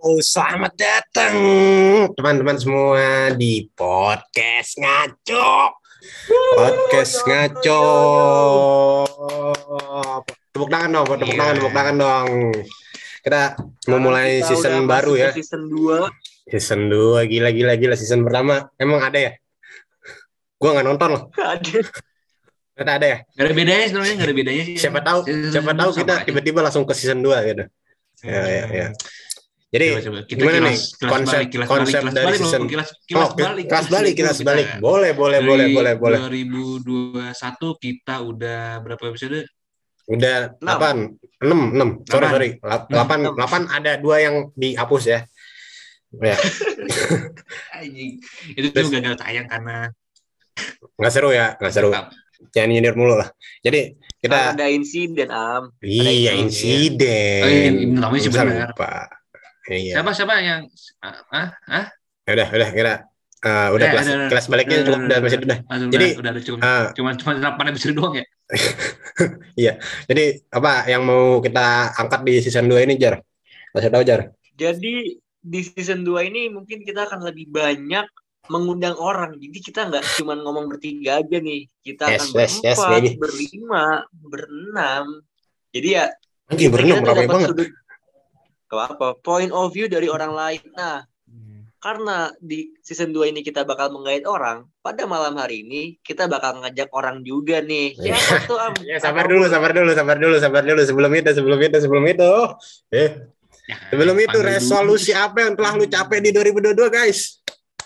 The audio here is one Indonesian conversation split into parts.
Selamat datang teman-teman semua di podcast ngaco. Podcast ngaco. Tepuk tangan dong, tepuk tangan dong. Kita mau mulai season baru ya. Season 2. Season 2 gila season pertama. Emang ada ya? Gua nggak nonton loh. Nggak ada ya? Nggak ada bedanya sebenarnya, nggak ada bedanya sih. Siapa tahu kita tiba-tiba langsung ke season 2 gitu. Ya. Jadi coba. Kita gimana nih konsep dari season kilas balik. Boleh. 2021 kita udah berapa episode? Udah 6. Sorry. 8 ada 2 yang dihapus ya. Ya. Itu tuh gagal tayang karena nggak seru. Jangan nyindir mulu lah. Jadi kita ada insiden Iya, insiden. Namanya sih benar. Iya. Siapa yang Udah kira udah kelas baliknya cukup udah masih udah. Jadi udah cuma 8 episode doang ya. Iya. Jadi apa yang mau kita angkat di season 2 ini, Jar? Kasih tahu, Jar. Jadi di season 2 ini mungkin kita akan lebih banyak mengundang orang. Jadi kita nggak cuma ngomong bertiga aja nih. Kita akan berempat, berlima, berenam. Jadi ya berenam ramai banget. Apa point of view dari orang lain. Nah, karena di season 2 ini kita bakal menggait orang, pada malam hari ini kita bakal ngajak orang juga nih. Siapa tuh, Ya, sabar dulu. Sebelum itu. Sebelum itu resolusi apa yang telah lu capai di 2022, guys?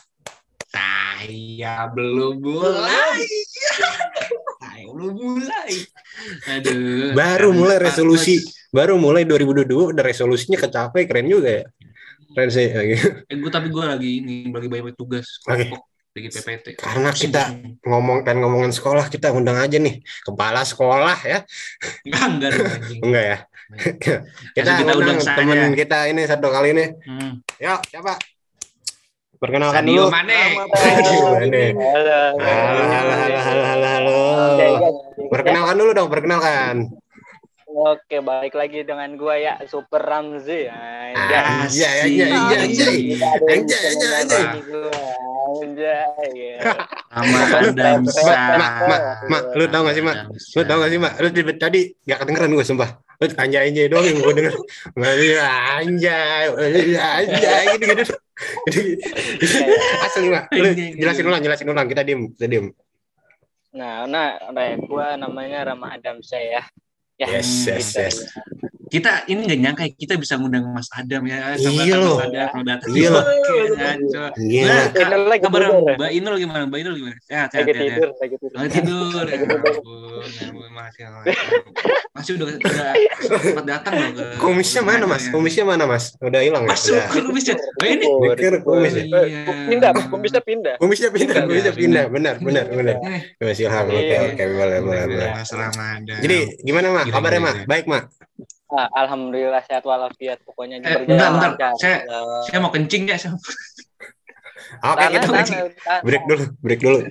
Saya belum mulai. Aduh. Baru mulai 2022 udah resolusinya kecapai, keren juga ya. Keren sih. Tapi gue lagi banyak tugas. Lagi PPT. Karena kita ngomongin sekolah, kita undang aja nih kepala sekolah ya. Enggak ya. Kita undang teman kita ini satu kali ini. Yuk, siapa? Perkenalkan dulu. Halo. Perkenalkan dulu dong. Oke, balik lagi dengan gua ya, Super Ramzi. Anjay. Mak, lu tau gak sih, Mak? Lu tadi gak kedengeran gue, sumpah. Lu anjay doang yang gue denger. Anjay gitu. Asli, Mak. Lu jelasin ulang. Kita diem. Nah, gua namanya Rama Adam saya. Yes. Kita ini nggak nyangka kita bisa ngundang Mas Adam ya. Iya loh. Iya. Kabar Mbak Inul gimana? Sehat. Lagi tidur. Masih udah sempat datang loh ke. Kumisnya mana, Mas? Udah hilang ya? Masuk ke kumisnya. Ini. Kumisnya pindah. Benar. Masih oke, boleh. Ramadan. Jadi gimana, Mak? Kabarnya, Mak? Baik, Mak. Alhamdulillah sehat walafiat, pokoknya bentar. Saya mau kencing ya. Oke, kita break dulu.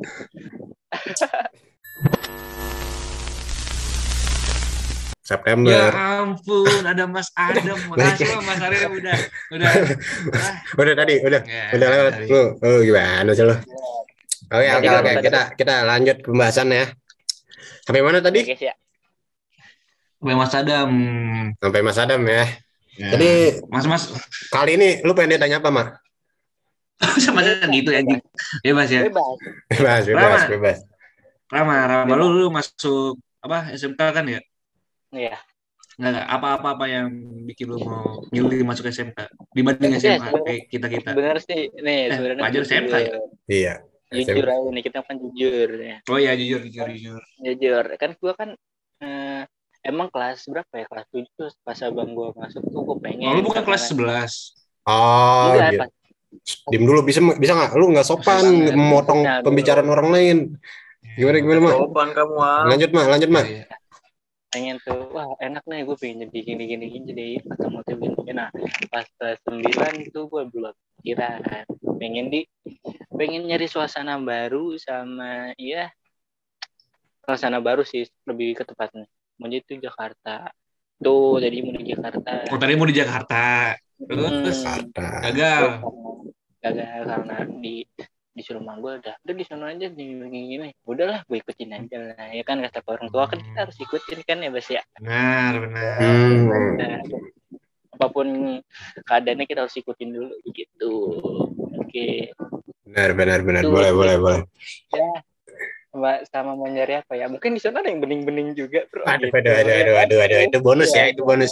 September. Ya ampun, ada Mas Adam. Makasih Mas Arya udah tadi udah lewat. Lu gimana sih lu? Oke. Kita lanjut pembahasan ya. Sampai mana tadi? Sampai Mas Adam ya. Jadi Mas kali ini lu pengen ditanya apa, Mak? Sama aja gitu ya. Bebas ya. Bebas. Rama, lu masuk apa SMK kan ya? Iya. Enggak apa yang bikin lu mau milih masuk SMK dibanding SMA kayak kita. Benar sih. Nih, sebenarnya pelajar SMK ya? Iya. Jujur aja nih, kita kan jujur ya. Oh iya, jujur. Jujur. Kan gua kan emang kelas berapa ya? Kelas 7 pas abang gua masuk tuh gua pengen. Lu bukan kelas 11. Oh, iya. Diem dulu, bisa nggak? Lu nggak sopan memotong pembicaraan orang lain. Gimana, Mak? Sopan kamu, Lanjut, Mak. Pengen tuh, wah enak nih, gue pengen jadi gini jadi motif gini. Nah, pas kelas 9 tuh gue belum kira pengen nyari suasana baru sama suasana baru sih lebih ke tepatnya. Mau itu Jakarta. Tuh, jadi mau di Jakarta. Oh, tadi mau di Jakarta. Terus Ada. gagal. Karena disuruh rumah gue udah di sana aja gini. Udahlah gue ikutin aja lah. Ya kan kata orang tua kan kita harus ikutin kan ya Bas ya. Benar. Nah, apapun keadaannya kita harus ikutin dulu gitu. Oke. Benar. Boleh. Ya, sama mau nyari apa ya? Mungkin di sana ada yang bening-bening juga, bro. Aduh. Gitu. Itu bonus ya. Bonus.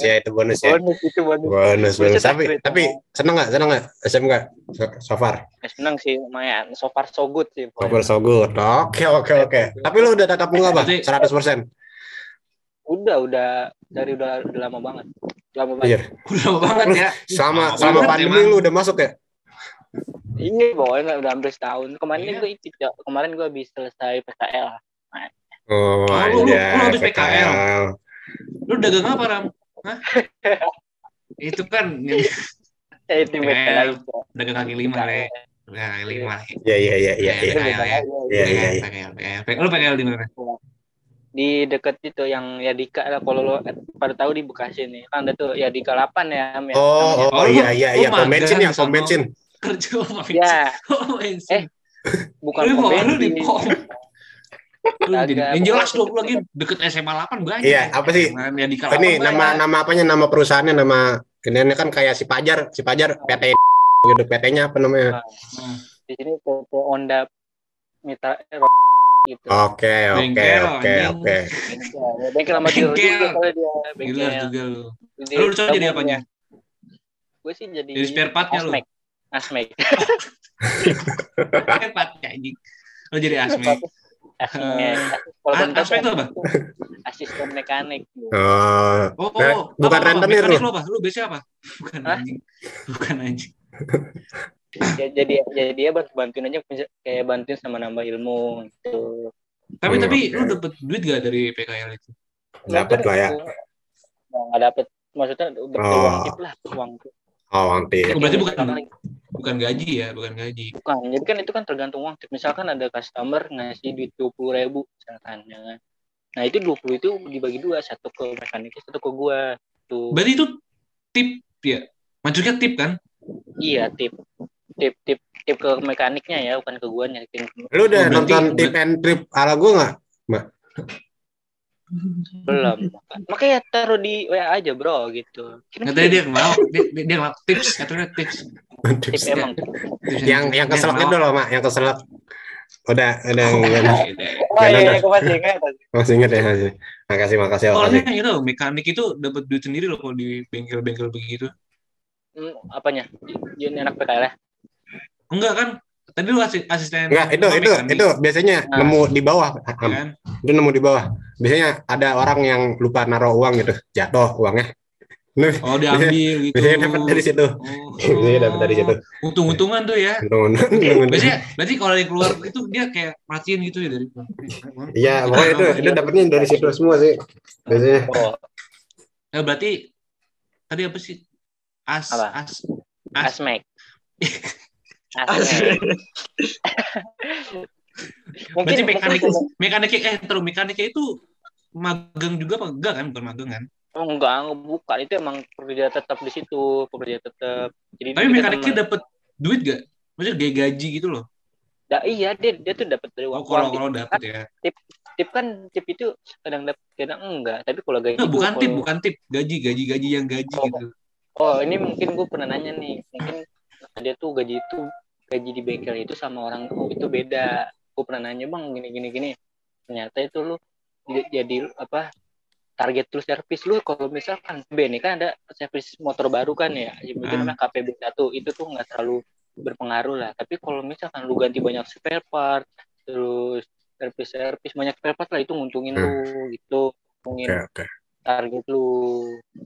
Tapi seneng nggak SMK so far? Seneng sih, lumayan. So far so good sih. So far so good. Oke. Tapi lu udah tatap muka apa? 100%? Udah lama banget. Iya. Udah lama banget ya. Sama pandemi lu udah masuk ya? Ini pokoknya udah hampir setahun. Kemarin gue habis selesai PKL. Oh, lu habis PKL. Lu dagang apa, Ram? Hah? Itu kan Itu PKL, dagang kaki lima, Le. Kaki lima. Iya. Lu PKL di mana? Di dekat itu yang Yadika lah, kalau lo pada tahu di Bekasi nih. Kan ada tuh Yadika 8 ya. Oh iya. Pom bensin. Kerja apa? Ya. Bukan pom bensin. Yang jelas dong lagi deket SMA 8 banyak. Iya, apa sih? Ini nama apanya? Nama perusahaannya, nama ini kan kayak si Pajar PT gitu. PT-nya apa namanya? Di sini PT Honda Mitra gitu. Oke. Bengkel sama dealer juga kalau dia bengkel juga lu. Lu coba jadi apanya? Gue sih jadi spare part-nya lu. Asmek. Spare part-nya anjing. Lu jadi Asmek. Asmek itu apa? Asisten mekanik. Bukan rentenir lu. Lu biasanya apa? Bukan anjing. Ya, jadi dia bantuin aja kayak bantuin sama nambah ilmu gitu. Tapi lu dapet duit gak dari PKL itu? Dapat lah ya. Nggak dapet, maksudnya uang tip lah, uang tip. Uang tip. Berarti bukan gaji ya, bukan gaji. Bukan, jadi kan itu kan tergantung uang tip. Misalkan ada customer ngasih duit 20.000 misalkan, ya. Nah itu 20 itu dibagi dua, satu ke mekaniknya, satu ke gua. Tuh. Berarti itu tip ya? Maksudnya tip kan? Iya, tip ke mekaniknya ya, bukan ke gua nyakin. Lu udah nonton tip and trip ala gua nggak, Mbak? Belum. Makanya taruh di WA aja, bro, gitu. Katanya dia mau tips, katanya tips emang. Yang keselak itu loh, Mak, yang keselak. Udah masih ingat ya, masih. Makasih. Soalnya itu mekanik itu dapat duit sendiri loh kalau di bengkel-bengkel begitu. Apanya? Jadi anak PKL ya? Enggak kan? Tadi lu asisten. Enggak, itu biasanya nemu di bawah. Kan? Itu nemu di bawah. Biasanya ada orang yang lupa naruh uang gitu, jatuh uangnya. Oh, diambil gitu. Biasanya dapat dari situ. Biasanya dapat dari situ. Untung-untungan tuh ya. Biasanya berarti kalau dari keluar itu dia kayak matiin gitu ya dari. Iya, pokoknya itu dapatnya dari situ semua sih. Biasanya. Nah, berarti tadi apa sih? Asmek. Berarti mekaniknya itu magang juga apa enggak kan? Bukan magang kan? Oh, enggak, bukan. Itu emang pekerja tetap di situ, Jadi tapi mekaniknya dapat duit gak? Maksudnya gaji gitu loh. Iya, dia tuh dapat dari uang. Kalau dapat ya. Tip itu kadang dapat, kadang enggak. Tapi kalau gaji bukan tip, gaji yang gaji gitu. Oh, ini mungkin gue pernah nanya nih. Mungkin dia tuh gaji di bengkel itu sama orang itu beda. Gue pernah nanya, Bang, gini. Ternyata itu lu jadi apa? Target terus servis lu kalau misalkan ini kan ada servis motor baru kan ya, mungkin namanya KPB1 itu tuh nggak terlalu berpengaruh lah. Tapi kalau misalkan lu ganti banyak spare part, terus servis banyak spare part lah, itu nguntungin lu gitu, nguntungin target lu.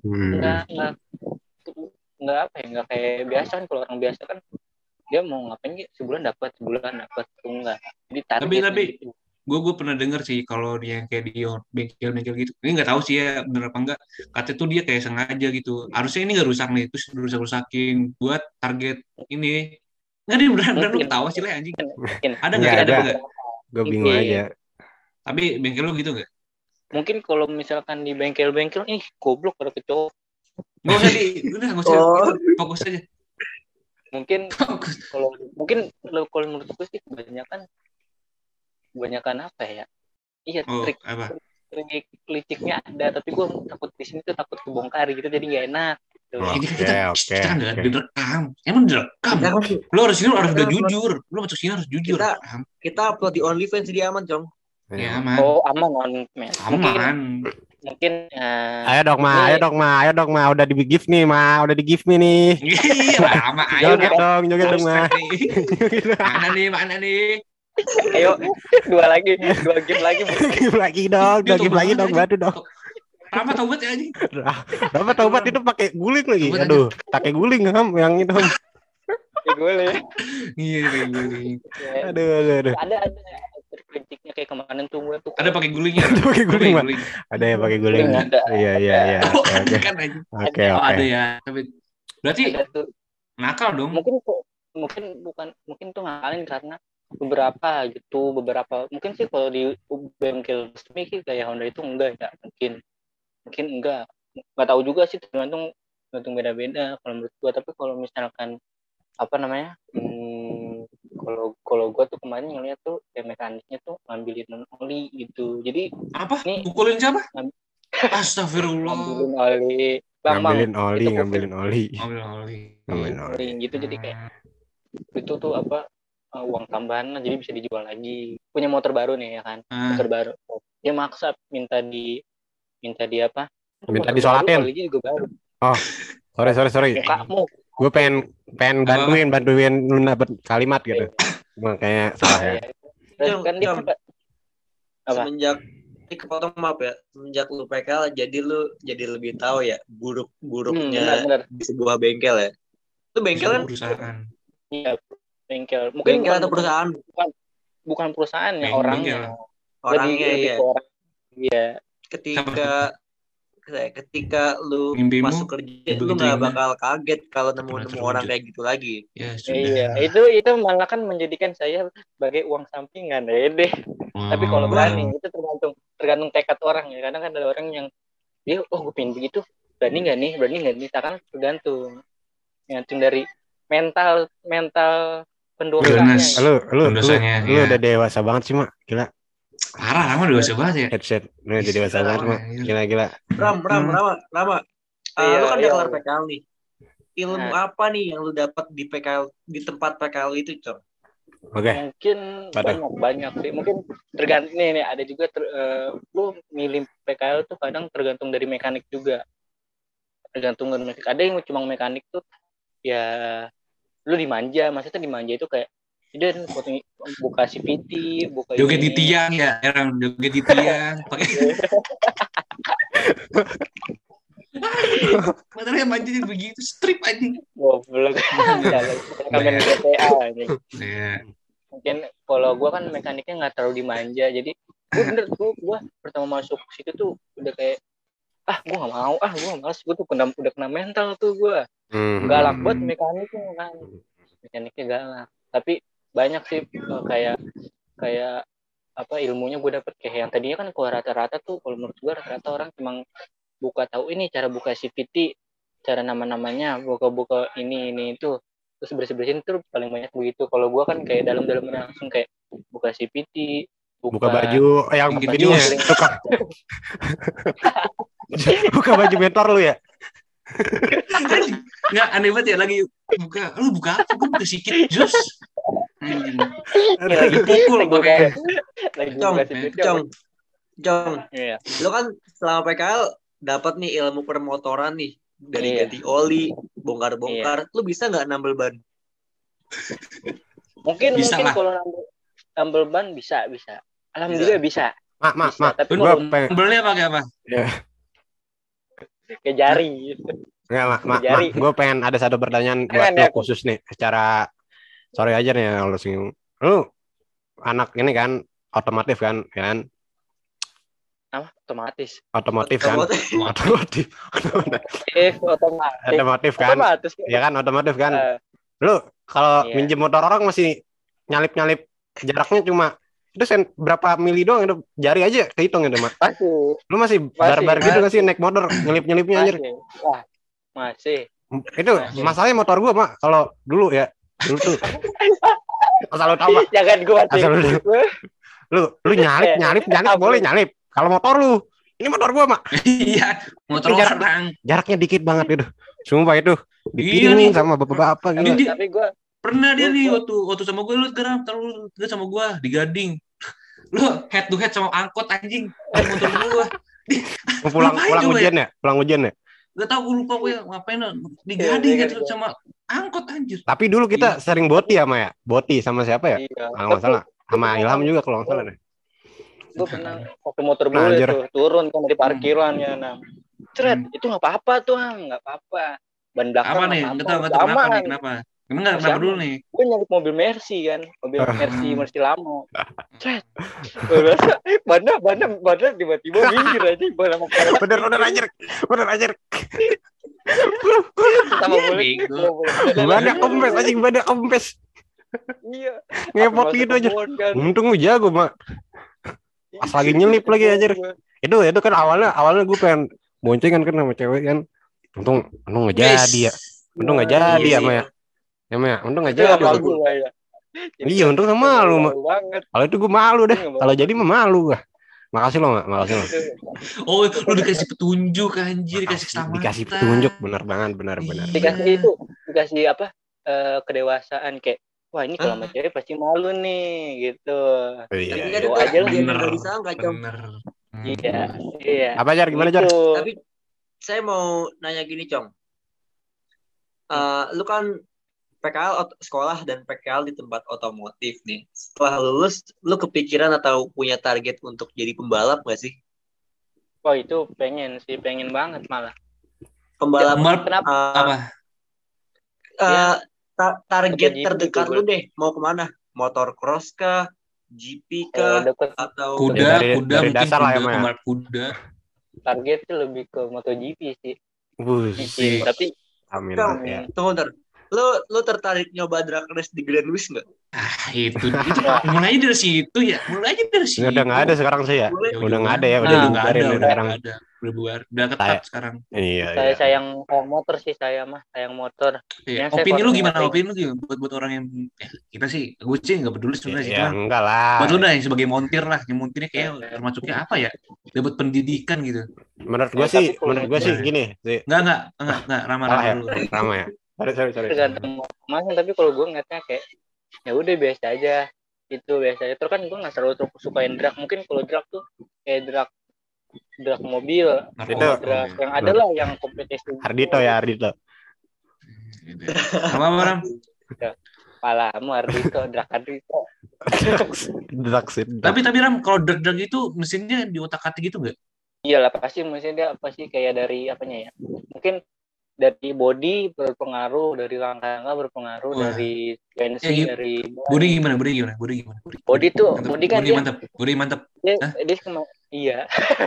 Nggak kayak biasa kan. Kalau orang biasa kan dia mau ngapain gitu, sebulan dapat tuh enggak. Jadi target tapi gitu. Gue pernah dengar sih kalau dia yang kayak di bengkel gitu. Ini nggak tahu sih ya bener apa enggak. Katanya tuh dia kayak sengaja gitu. Harusnya ini nggak rusak nih, terus rusakin buat target ini. Nggak dia beneran lu ketawa sih lah anjing. Ada nggak? Gue bingung aja. Tapi bengkel lu gitu nggak? Mungkin kalau misalkan di bengkel-bengkel, goblok pada kecoh. Nggak usah udah nggak usah gitu, fokus aja. Mungkin kalau menurut gue sih kebanyakan apa ya? Iya, trik liciknya ada, tapi gue takut di sini tuh takut kebongkar gitu, jadi nggak enak. Kita kan nggak direkam, emang direkam. Lo harus udah jujur, lo masuk sini harus jujur. Kita upload di OnlyFans jadi aman, Cong. Ya aman. Oh aman. Mungkin. Ayo dong ma, udah di gift nih ma, udah di gift nih. Iya lama, ayo joget dong ma. Mana nih? Ayo dua game lagi. Game lagi dong, bantu dong. Rama taubat ya anjing. Rama taubat itu pakai guling lagi. Aduh, pakai guling yang itu. Pakai guling. Iya, pakai guling. Aduh. Ada kritiknya kayak kemarin tuh gue tuh. Ada pakai gulingnya. Pakai guling. Ada yang pakai guling. Iya. Oke. Ada ya. Tapi berarti nakal dong. Mungkin tuh ngakalin karena beberapa mungkin sih kalau di bengkel resmi kayak Honda itu enggak ya, mungkin enggak tahu juga sih, tergantung beda-beda kalau menurut gua. Tapi kalau misalkan apa namanya, kalau gua tuh kemarin ngeliat tuh kayak mekaniknya tuh ngambilin oli gitu. Jadi apa nih, pukulin siapa? Astagfirullah. ngambilin oli gitu. Jadi kayak itu tuh apa, uang tambahan, jadi bisa dijual lagi. Punya motor baru nih ya kan, motor baru. Dia maksa minta di apa? Minta disolatin. Oli juga baru. Oh, sorry. Kamu. Gue pengen bantuin lu dapat kalimat gitu. Makanya salah ya. Kan dia apa? Semenjak ini kepotong maaf ya, semenjak lu PKL jadi lebih tahu ya buruknya di sebuah bengkel ya. Itu bengkel kan perusahaan. Iya. Bengkel atau perusahaan? Bukan perusahaan ya, orangnya iya. Iya. Ketika lu masuk kerja, lu nggak bakal kaget kalau nemu orang kayak gitu lagi. Ya, iya, itu malah kan menjadikan saya sebagai uang sampingan ya deh. Tapi kalau berani itu tergantung tekad orang ya. Kadang kan ada orang yang dia gue pengen begitu, berani nggak nih, misalkan tergantung dari mental pendosanya. Lu udah dewasa banget sih mak, gila. Parah, Rama dewasa banget ya. Headset, lu udah dewasa banget mak, gila. Rama. Lu kan udah kelar PKL nih. Ilmu apa nih yang lu dapat di PKL, di tempat PKL itu, Cok? Oke. Mungkin banyak sih. Mungkin tergantung nih ada juga lu milih PKL tuh kadang tergantung dari mekanik juga. Tergantung dari mekanik. Ada yang cuma mekanik tuh ya lu dimanja, maksudnya dimanja itu kayak dia buka CVT, buka joget di tiang ya, joget di tiang pakai materialnya manjin begitu, strip anjing. Goblok. Kamen GTA anjing. Mungkin kalau gua kan mekaniknya enggak terlalu dimanja, jadi gua pertama masuk situ tuh udah kayak gua enggak mau, gua malas, gua tuh udah kena mental tuh gua. Galak buat mekaniknya kan. Mekaniknya galak. Tapi banyak sih kayak apa ilmunya gue dapet kayak yang tadinya kan kalau rata-rata tuh kalau menurut gue rata-rata orang cuma tahu ini cara buka CVT, cara nama-namanya, buka ini itu, terus bersihin tuh paling banyak begitu. Kalau gue kan kayak dalam langsung kayak buka CVT, buka baju yang bajunya buka baju mentor lu ya. Nggak, aneh banget ya, lagi buka apa? Gue buka sikit jus. Lagi pukul pakai. Jong. Iya. Lo kan selama PKL dapat nih ilmu permotoran nih, dari ganti oli, bongkar-bongkar. Lo bisa nggak nambel ban? Mungkin kalau nambel ban bisa. Alhamdulillah bisa. Mak. Tapi gue nambelnya pakai apa? Kayak jari gitu. Enggak, mak. Gue pengen ada satu pertanyaan buat lo khusus nih. Secara sorry aja nih kalau singgung. Lu anak ini kan otomotif kan, ya kan? Apa? Otomotif kan? Otomotif kan? Ya kan otomotif kan? Lu kalau minjem motor orang masih nyalip jaraknya cuma itu berapa mili doang, itu jari aja kehitung itu mak. Lu masih barbar gitu gak sih naik motor nyelip-nyelipnya anjir? Wah, Masih. Itu masalahnya motor gua, Mak. Kalau dulu tuh. Asal lu tahu, Pak. Jangan gua. Asal lu nyalip boleh nyalip. Kalau motor lu, ini motor gua, Mak. Iya, motor orang. Jaraknya dikit banget itu. Sumpah itu. Dipingin sama bapak-bapak gitu. Tapi gua pernah dia nih waktu sama gue, lu sekarang terlalu sama gue di Gading. Lu head to head sama angkot anjing. Motor gue. Pulang ujian ya? Pulang ujian ya? Gak tau, gue lupa gue ngapain di Gading gitu sama angkot anjir. Tapi dulu kita sering boti sama siapa ya? Kalau nggak salah sama Ilham juga kalau nggak salah deh. Gue pernah pakai motor bule tuh turun kan dari parkiran ya, itu nggak apa-apa tuh, nggak apa-apa. Ban belakang apa nih? Nggak tahu kenapa. Kenapa dulu nih? Gue nyalip mobil Mercy kan, Mercy lama. Bannya tiba-tiba minggir aja, bener anjir. Sama boleh. Banyak kempes. Iya. Ngepot gitu aja. Untung lu jago, Mak. Pas lagi nyelip lagi anjir. Itu kan awalnya gue pengen boncengan kan sama cewek kan. Untung nggak jadi ya. Untung nggak jadi ya, Mak. Ya, Mak. Untung nggak jadi. Iya, untung sama malu, Mak. Kalau itu gue malu deh. Kalau jadi mah malu gue. Makasih lo, Mak. Makasih lo. Oh, lu dikasih petunjuk anjir, dikasih petunjuk, benar. Dikasih apa? Kedewasaan kayak, wah ini kalau sama cewek pasti malu nih gitu. Iya. Doa aja lah, enggak disangka, Com. Iya. Apa Jar, gimana Jar? Tapi saya mau nanya gini, Com. Lu kan PKL sekolah dan PKL di tempat otomotif nih. Setelah lulus, lu kepikiran atau punya target untuk jadi pembalap gak sih? Oh itu pengen banget malah. Pembalap kenapa? Apa? Target terdekat lu deh, mau kemana? Motor cross kah? GP kah? Atau kuda dari dasar lah ya, pembalap kuda. Target tuh lebih ke MotoGP sih. Tapi amin ya. Tunggu ntar. Lu tertarik nyoba drag race di Grand West nggak? Itu mulai dari situ ya. Udah nggak ada sekarang sih ya. Udah nggak ada ya. Udah ketat sekarang. Iya. Sayang motor sih, sayang motor. Iya. Opini lu gimana? Buat orang yang kita sih, gue sih nggak peduli sebenarnya sih. Ya enggak lah. Buat lu dah yang sebagai montir lah, yang montirnya kayak termasuknya apa ya? Dapat pendidikan gitu. Menurut gue sih gini. Enggak ramah ya. Sorry. Tergantung masing, tapi kalau gue ngeliatnya kayak ya udah biasa aja. Itu biasa aja. Terus kan gue nggak selalu sukain drag. Mungkin kalau drag tuh kayak drag mobil, drag yang ada lah yang kompetisi. Ardito. Apa Ram? Palamu Ardito, drag Ardito. Tapi Ram, kalau drag itu mesinnya diotak-atik gitu nggak? Iyalah pasti mesinnya kayak dari apanya ya? Mungkin dari body berpengaruh, dari rangka berpengaruh, dari tensi, dari body gimana? Body kan mantap. Body mantap. Iya.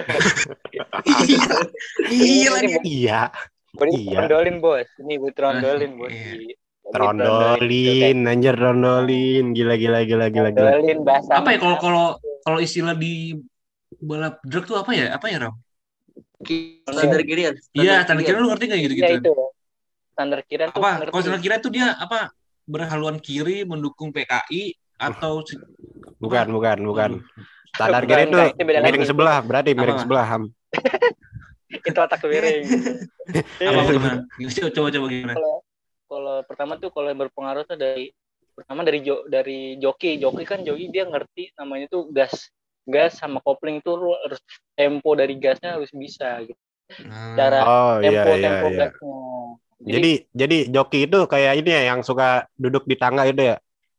Iya lagi. Iya. Trondolin bos. Ini gue trondolin bos. Trondolin, anjir trondolin. Gila. Trondolin bahasa. Apa ya kalau istilah di balap drag tuh apa ya Ram? Standar kirian. Iya, standar kirian lu ngerti nggak gitu? Iya itu. Standar kirian tuh. Apa? Kalau standar kirian tuh dia apa? Berhaluan kiri mendukung PKI atau bukan. Standar kirian tuh miring sebelah, berarti miring sebelah Ham. Itu otak miring. Apa gimana? Coba gimana? Kalau pertama tuh kalau yang berpengaruh tuh dari joki. Joki kan dia ngerti namanya tuh gas sama kopling tuh harus tempo dari gasnya harus bisa gitu. Cara tempo gasnya. Jadi joki itu kayak ini ya yang suka duduk di tangga itu ya.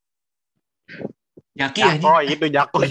Jaki aja. Oh, itu Jako.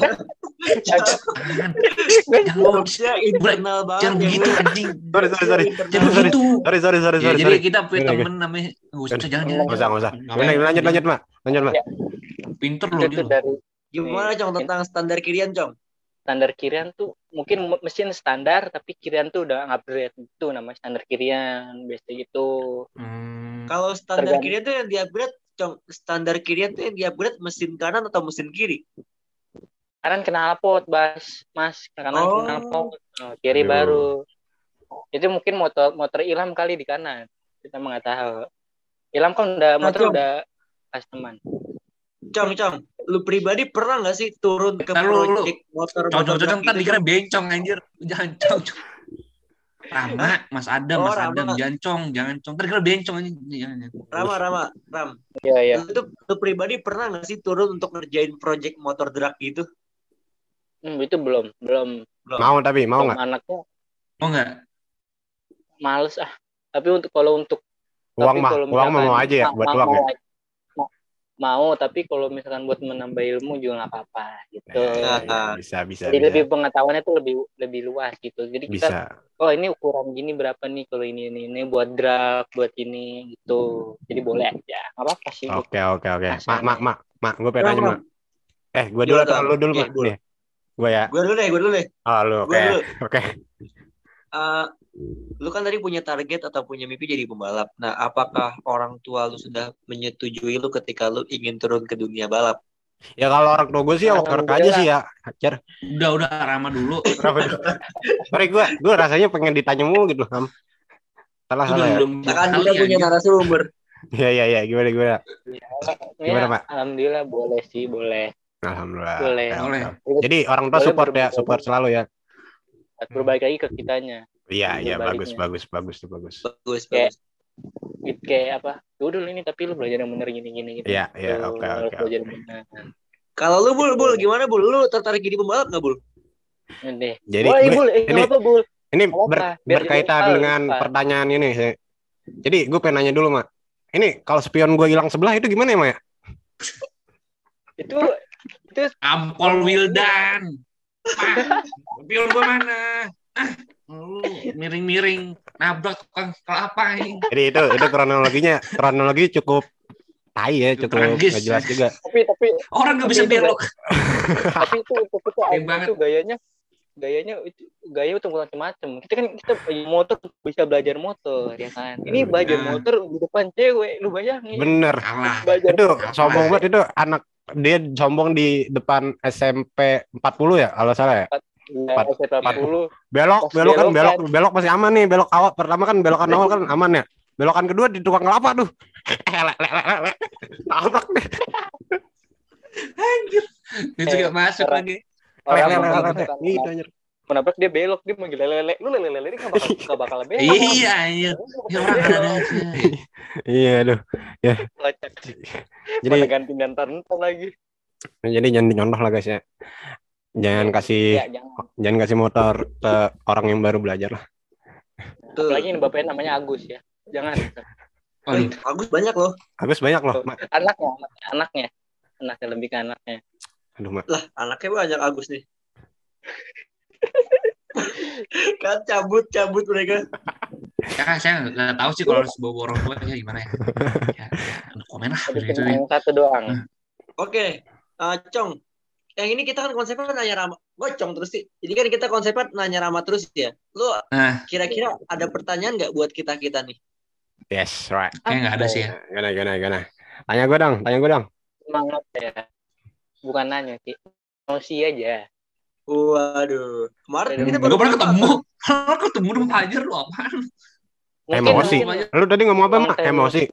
Jangan internal banget. Jangan begitu anjing. Sorry. Jadi kita punya temen namanya Enggak usah. Lanjut, Mak. Pinter loh dia. Gimana Cong tentang standar kirian, Cong? Standar kirian tuh mungkin mesin standar tapi kirian tuh udah upgrade, itu namanya standar kirian biasa gitu. Kalau standar kirian tuh yang di-upgrade, Cong, standar kirian tuh yang di-upgrade mesin kanan atau mesin kiri? Kanan knalpot, Mas. Knalpot. Kiri baru. Itu mungkin motor Ilham kali di kanan. Kita mah nggak tahu. Ilham kan motor udah customer. Cong, lu pribadi pernah nggak sih turun ke project motor? Cong, ntar dikira bencong anjir. Jangan cong. Rama, Mas Adam, jangan cong. Ntar dikira bencong anjir. Ram. Iya. Lu pribadi pernah nggak sih turun untuk ngerjain project motor drag gitu? Itu belum. Mau nggak? Anaknya. Mau nggak? Males Tapi kalau untuk uang mau aja ya buat uang ya. Mau, tapi kalau misalkan buat menambah ilmu juga nggak apa-apa gitu. Bisa. Jadi lebih pengetahuannya tuh lebih luas gitu. Jadi bisa. Kita, ini ukuran gini berapa nih kalau ini buat drag, buat ini gitu. Jadi boleh aja, nggak apa-apa sih. Oke. Mak, gue pengen nanya mak. Gue dulu atau lu dulu mak? Gue ya. Gue dulu deh. Oh lu, oke. Lu kan tadi punya target atau punya mimpi jadi pembalap. Nah, apakah orang tua lu sudah menyetujui lu ketika lu ingin turun ke dunia balap? Ya kalau orang tua gue sih ya work aja sih ya. Hajar. Udah Rama dulu. Sorry gue rasanya pengen ditanya mulu gitu, Ham. Salah ya. Kan kita punya narasumber. Iya, gimana? Gimana, Mak? Alhamdulillah boleh. Alhamdulillah. Boleh. Jadi orang tua support selalu ya. Berbalik lagi ke kitanya. Iya, bagus. Kayak apa? Udah ini tapi lu belajar yang bener gini. Iya, oke. Belajar bener. Kalau lu Bul, gimana Bul? Lu tertarik jadi pembalap nggak Bul? Jadi ini berkaitan dengan pertanyaan ini. Jadi gue pengen nanya dulu, Mak. Ini kalau spion gue hilang sebelah itu gimana ya, Mak? Itu Ampol Wildan. Spion gue mana? Miring nabrak tukang kelapa ini. Jadi itu kronologi cukup tai ya, cukup nggak jelas juga. Tapi orang nggak bisa belok. Tapi itu gayanya itu macam-macam. Kita motor bisa belajar motor ya kan. Ini belajar motor di depan cewek, lu bayangin. Bener. Itu sombong banget itu anak dia sombong di depan SMP 40 ya kalau salah ya. 40. Belok masih aman nih. Belok awal pertama kan belokan awal kan aman ya. Belokan kedua di tukang kelapa tuh. Tabrak deh. Anjir. Itu gak masuk lagi. Gitu anjir. Menabrak dia belok, dia manggil lele. Lu lele ini enggak bakal belok. Iya anjir. Ya orang ada aja. Iya aduh. Ya. Jadi ganti ntar lagi. Jadi jangan dicontoh lah guys ya. Jangan kasih motor ke orang yang baru belajar lah. Apalagi ini bapaknya namanya Agus ya. Jangan. Agus banyak loh. Anaknya lebih ke anaknya. Aduh, Mak. Lah, anaknya banyak Agus nih. Kan cabut mereka. Ya, saya nggak tahu sih kalau harus bawa orang tua ya gimana ya. Komen lah gitu. Satu doang. Oke. Cong. Yang ini kita kan konsepnya nanya Rama. Gocong terus sih. Jadi kan kita konsepnya nanya Rama terus ya. Lu kira-kira ada pertanyaan nggak buat kita nih? Yes, right. Kayaknya nggak ada sih ya. Gana. Tanya gue dong. Semangat ya. Bukan nanya sih. Emosi aja. Waduh. Kemarin kita baru ketemu. Kalau ketemu dong Hajar lu apaan? Emosi. Lu tadi ngomong apa, Mak? Emosi.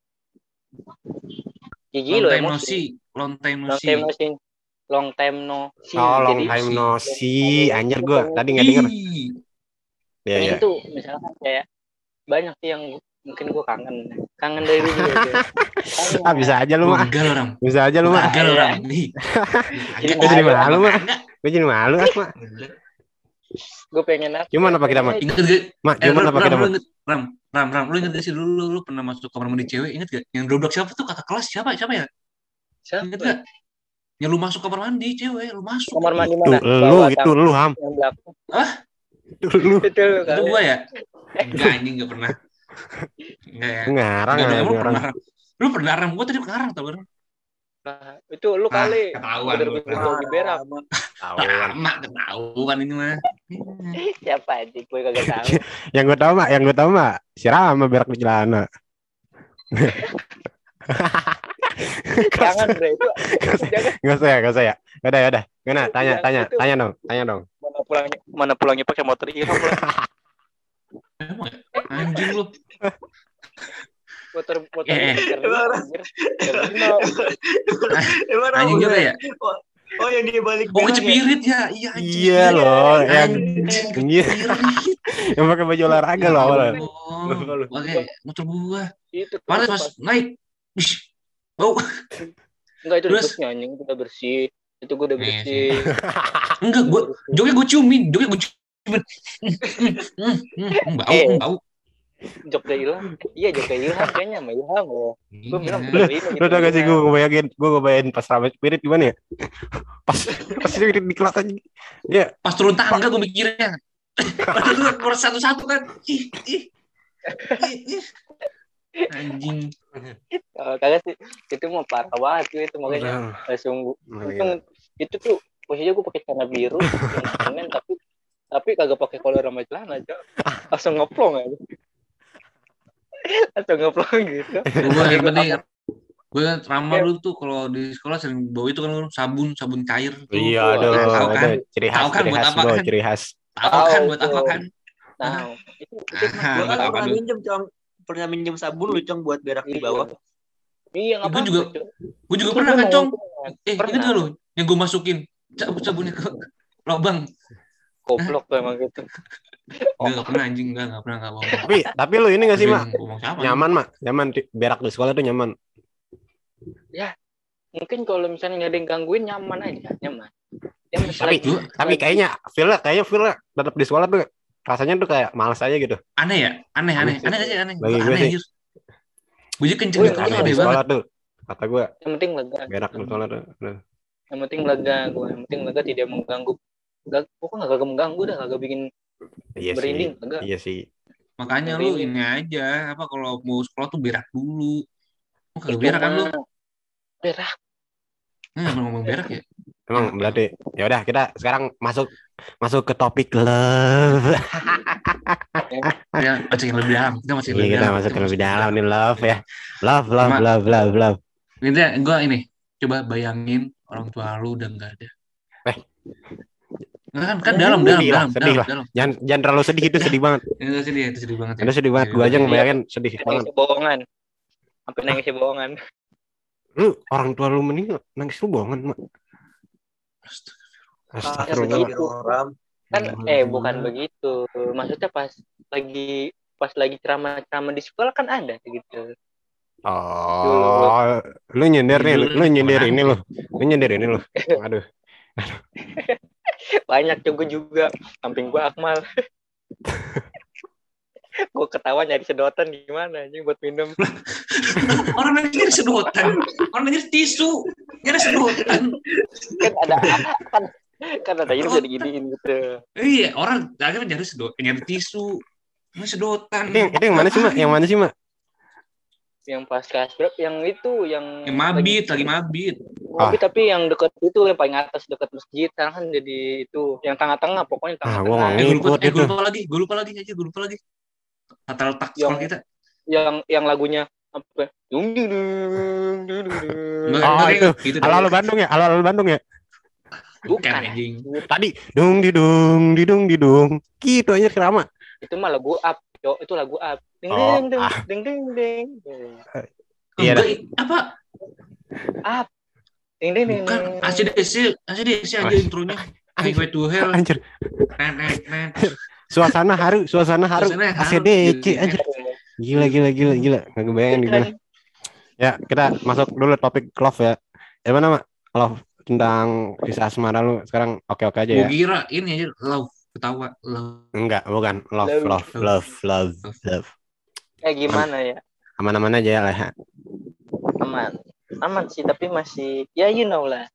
Gigi lu emosi. Long time no see. Long time no see. Anjir gue tadi nggak denger. Iya. Itu misalkan kayak banyak sih yang mungkin gue kangen dari dulu. Bisa aja lu Mak. Bisa aja lu Mak. Gue jadi malu Mak. Gue pengen apa? Gimana apa kita Mak? Gimana apa kita Mak? Ram, lu inget gak sih dulu lu pernah masuk kamar mandi cewek? Ingat gak? Yang dobrak siapa tuh kakak kelas siapa ya? Ingat gak? Ya lu masuk kamar mandi cewek, lu masuk. Kamar mandi mana? Itu lu Ham. Itu lu. Itu gua ya? Enggak, anjing enggak pernah. Enggak ya. Ngarang. Lu pernah Ram, gua tadi ngarang tau kan. Itu lu kali. Ketahuan lu. Di berak. Ketahuan ini mah. Siapa aja gue kagak tahu. Yang gue tahu Mak, si Rama berak di celana. Jangan bre itu. Enggak usah ya. Udah. Gimana? Tanya dong. Mana pulangnya pakai motor Ilham. Emang anjing lu. motor anjing juga ya. Oh yang dia balik Oh kecepirit ya. Iya anjing. Iya loh, yang Kecepirit. yang pakai baju olahraga loh awalnya. Pakai motor gua. Itu Pas naik. Bau. Enggak itu Terus? dipusnya anjing udah bersih. Itu gue udah bersih. Enggak, joknya gue ciumin. Bau. Joknya hilang. Iya joknya hilang kayaknya sama Ilham ya. Gue bilang Lu tau gak sih gue ngebayangin pas rame Spirit gimana ya? Pas Spirit di kelas aja. Ya, pas turun tangga gue mikirnya. Padahal gue keluar satu-satu kan. Anjing. Kagak sih. Itu mau parah banget itu makanya langsung itu tuh posisinya gue pakai celana biru yang tapi kagak pakai kolor sama celana aja. Langsung ngeplong aja. Langsung ngeplong gitu. Gue yang penting gue kan Rama dulu tuh kalau di sekolah sering bawa itu kan sabun cair tuh. Iya, tahu kan? Ciri khas, ciri khas. Tahu kan buat apa kan? Nah, itu gue kan pernah minjem sabun lu Cong buat berak di bawah. Iya apa? Gue juga pernah kan Cong. Ingat gak lu yang gue masukin sabunnya ke lubang. Goblok tuh emang gitu. Enggak pernah anjing, enggak pernah enggak bohong. Tapi lu ini enggak sih, Mak? Nyaman berak di sekolah tuh nyaman. Ya, mungkin kalau misalnya nggak ada yang gangguin nyaman aja, nyaman. Tapi kayaknya feel tetap di sekolah tuh rasanya tuh kayak malas aja gitu. Aneh aja. Bagi gue sih. Gue juga kenceng gitu di sekolah tuh. Kata gue. Yang penting lega. Berak di sekolah tuh. Yang penting lega gue. Yang penting lega tidak mengganggu. Pokoknya nggak mengganggu dah, nggak bikin berinding. Iya sih. Makanya lu ini aja apa kalau mau sekolah tuh berak dulu. Kagak berak kan lu? Berak. Ngomong berak ya? Emang berarti ya udah kita sekarang masuk ke topik love. Ya, masuk yang lebih dalam. Kita masuk yang lebih dalam nih love ya. Love. Ini gue ini coba bayangin orang tua lu udah enggak ada. Kan dalam. Jangan terlalu sedih, itu sedih banget. Itu sedih banget. Itu sedih banget. Gua aja ngebayangin sedih banget. Bohongan. Sampai nangis bohongan. Lu orang tua lu meninggal, nangis lu bohongan, Mak. Astagfirullah. Kan bukan begitu. Maksudnya pas lagi ceramah di sekolah kan ada gitu. Oh, lu nyindir ini lu. Aduh. Banyak juga samping gua Akmal. Gue ketawa nyari sedotan gimana anjing buat minum. Orang nyari sedotan, orang nyari tisu, nyari sedotan. Kan ada ini bisa diginiin gitu. Iya, orang akhirnya nyari tisu, nyari sedotan. Itu yang mana sih, Mak? Yang pas kelas berapa? Yang itu yang mabit. Mabit tapi yang dekat itu yang paling atas dekat masjid. Sekarang kan jadi itu yang tengah-tengah pokoknya tengah-tengah. Gue lupa lagi. Kata letak sekolah kita. Yang lagunya apa? Dung. Itu. Halo Bandung ya. Bukan anjing. Tadi dung didung. Gitu aja kerama. Itu mah lagu up. Itu lagu up. Ding. Iya. Apa? Up. Ding. Bukan. ACDC aja intronya. Highway to Hell. Anjir. Suasana haru. ACDC aja. Gila. Enggak kebayang gimana. Ya, kita masuk dulu topik love ya. Mana, Mak? Love tentang kisah asmara lu sekarang oke-oke aja ya. Gua kira ini aja love ketawa love. Enggak, bukan. Love. Gimana ya? Aman-aman aja lah ya. Aman sih, tapi masih ya you know lah.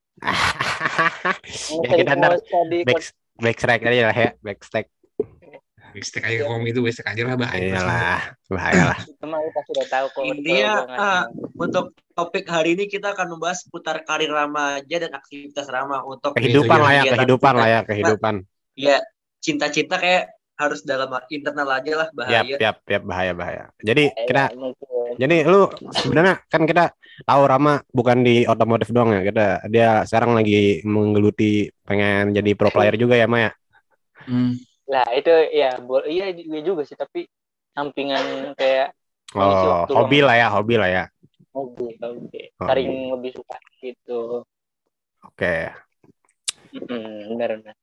Ya kita backstack aja lah ya, backstack aja ngomong itu backstack aja lah bahaya lah. Teman kita sudah tahu kok. Intinya untuk topik hari ini kita akan membahas seputar karir remaja dan aktivitas Rama untuk kehidupan lah ya. Ya, cinta-cinta kayak harus dalam internal aja lah, bahaya. Yap, bahaya. Jadi lu sebenarnya kan kita tahu Rama bukan di otomotif doang ya. Dia sekarang lagi menggeluti pengen jadi pro player juga ya, Maya. Lah itu ya iya juga sih, tapi sampingan kayak Mengisi Oh, waktu hobi luang. lah ya, hobi lah ya. Hobi. Hobi. Saling lebih suka gitu. Oke. Benar.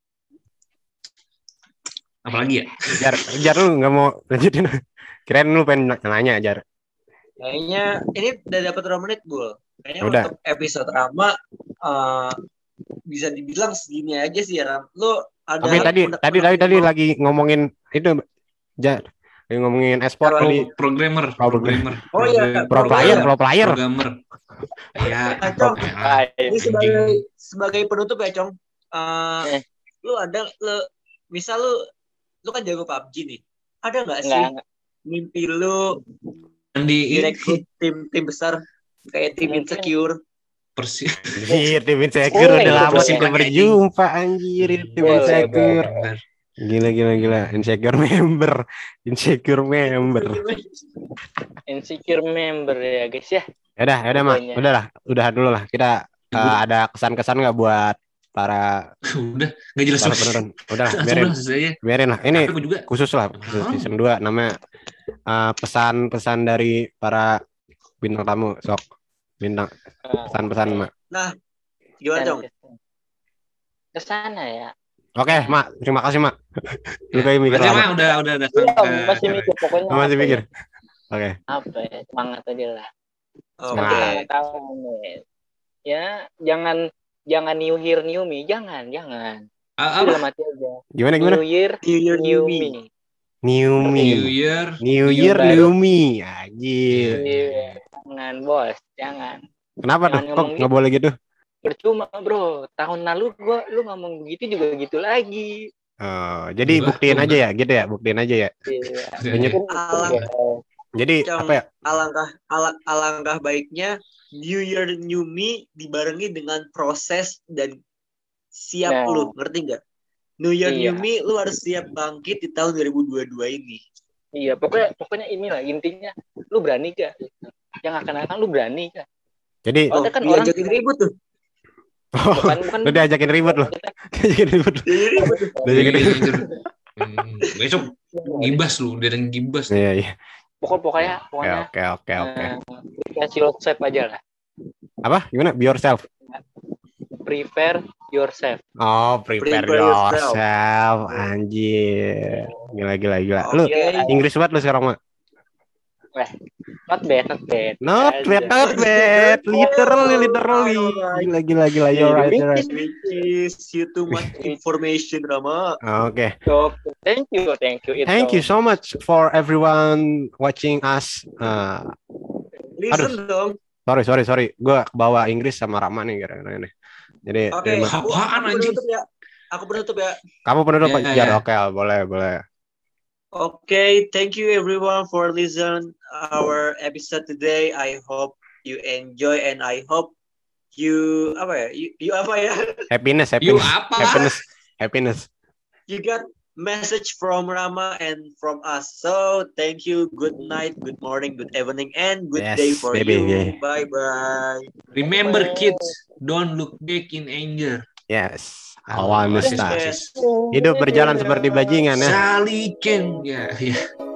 Apalagi ya? Jar lu nggak mau lanjutin? Kirain lu pengen nanya, Jar. Kayaknya ini udah dapat 2 menit, Bul. Kayaknya Udah. untuk episode Rama bisa dibilang segini aja sih ya, Ram. Lu ada Tapi tadi lagi ngomongin itu, Jar. Lagi ngomongin e-sport tadi. Programmer. Oh iya, Pro player. Programmer. Ya, Nah, Cong, ini anjing. sebagai penutup ya, Cong. Lu misal lu kan jago PUBG nih. Ada nggak sih mimpi lu direkrut tim besar kayak tim Insecure? Anjir, tim Insecure udah lama tidak berjumpa, anjir, tim Insecure. Gila. Insecure member. Insecure member ya, guys ya. Yaudah, Mak. Udah dulu lah. Kita ada kesan-kesan nggak buat para udah nggak jelas para beneran. Udah, biarin lah. Ini khusus lah, season 2 namanya pesan-pesan dari para bintang tamu. Sok bintang pesan-pesan, Mak. Nah, gimana, Cong? Kesana ya. Oke, Mak. Terima kasih, Mak. Lu kayak mikir lama. Udah masih mikir pokoknya. Masih mikir. Oke. Apa ya? Semangat aja lah. Oke. Ya, jangan new year new me, jangan. Udah mati aja. Gimana? New year new me. New year new me. Anjir. Jangan, Bos, jangan. Kenapa tuh? Kok nggak boleh gitu? Percuma, Bro. Tahun lalu lu ngomong begitu juga gitu lagi. Oh, jadi buktiin aja ya, gitu ya, buktiin aja ya. Iya. Jadi apa ya? Alangkah baiknya New Year New Me dibarengi dengan proses dan siap lu, ngerti nggak? New Year New Me lu harus siap bangkit di tahun 2022 ini. Iya, pokoknya inilah intinya, lu berani gak? Yang akan lu berani gak? Jadi kan diajakin ribut tuh. Bukan. Lu diajakin ribut lu. Diajakin ribut. Besok gibas lu, dia yang gibas. Iya. Pokoknya. Oke. Kasih yourself aja lah. Apa? Gimana? Be yourself. Prepare yourself. Oh, prepare yourself. Anjir. Gila. Lu Inggris banget lu sekarang, Mak. Not bad. Not bad. Literally. Gila. You're right. You too much information, Rama. Okay. Thank you. Thank you so much for everyone watching us. Listen dong. Sorry. Gue bawa Inggris sama Rama nih gara-gara ini. Jadi aku penutup ya. Kamu penutup Pak Jar. Oke, boleh. Okay, thank you everyone for listening our episode today. I hope you enjoy and I hope you happiness. You got message from Rama and from us. So thank you. Good night, good morning, good evening, and good day for you. Yeah. Bye. Remember, kids, don't look back in anger. Yes. Hidup berjalan seperti bajingan ya. Salikin. Ya.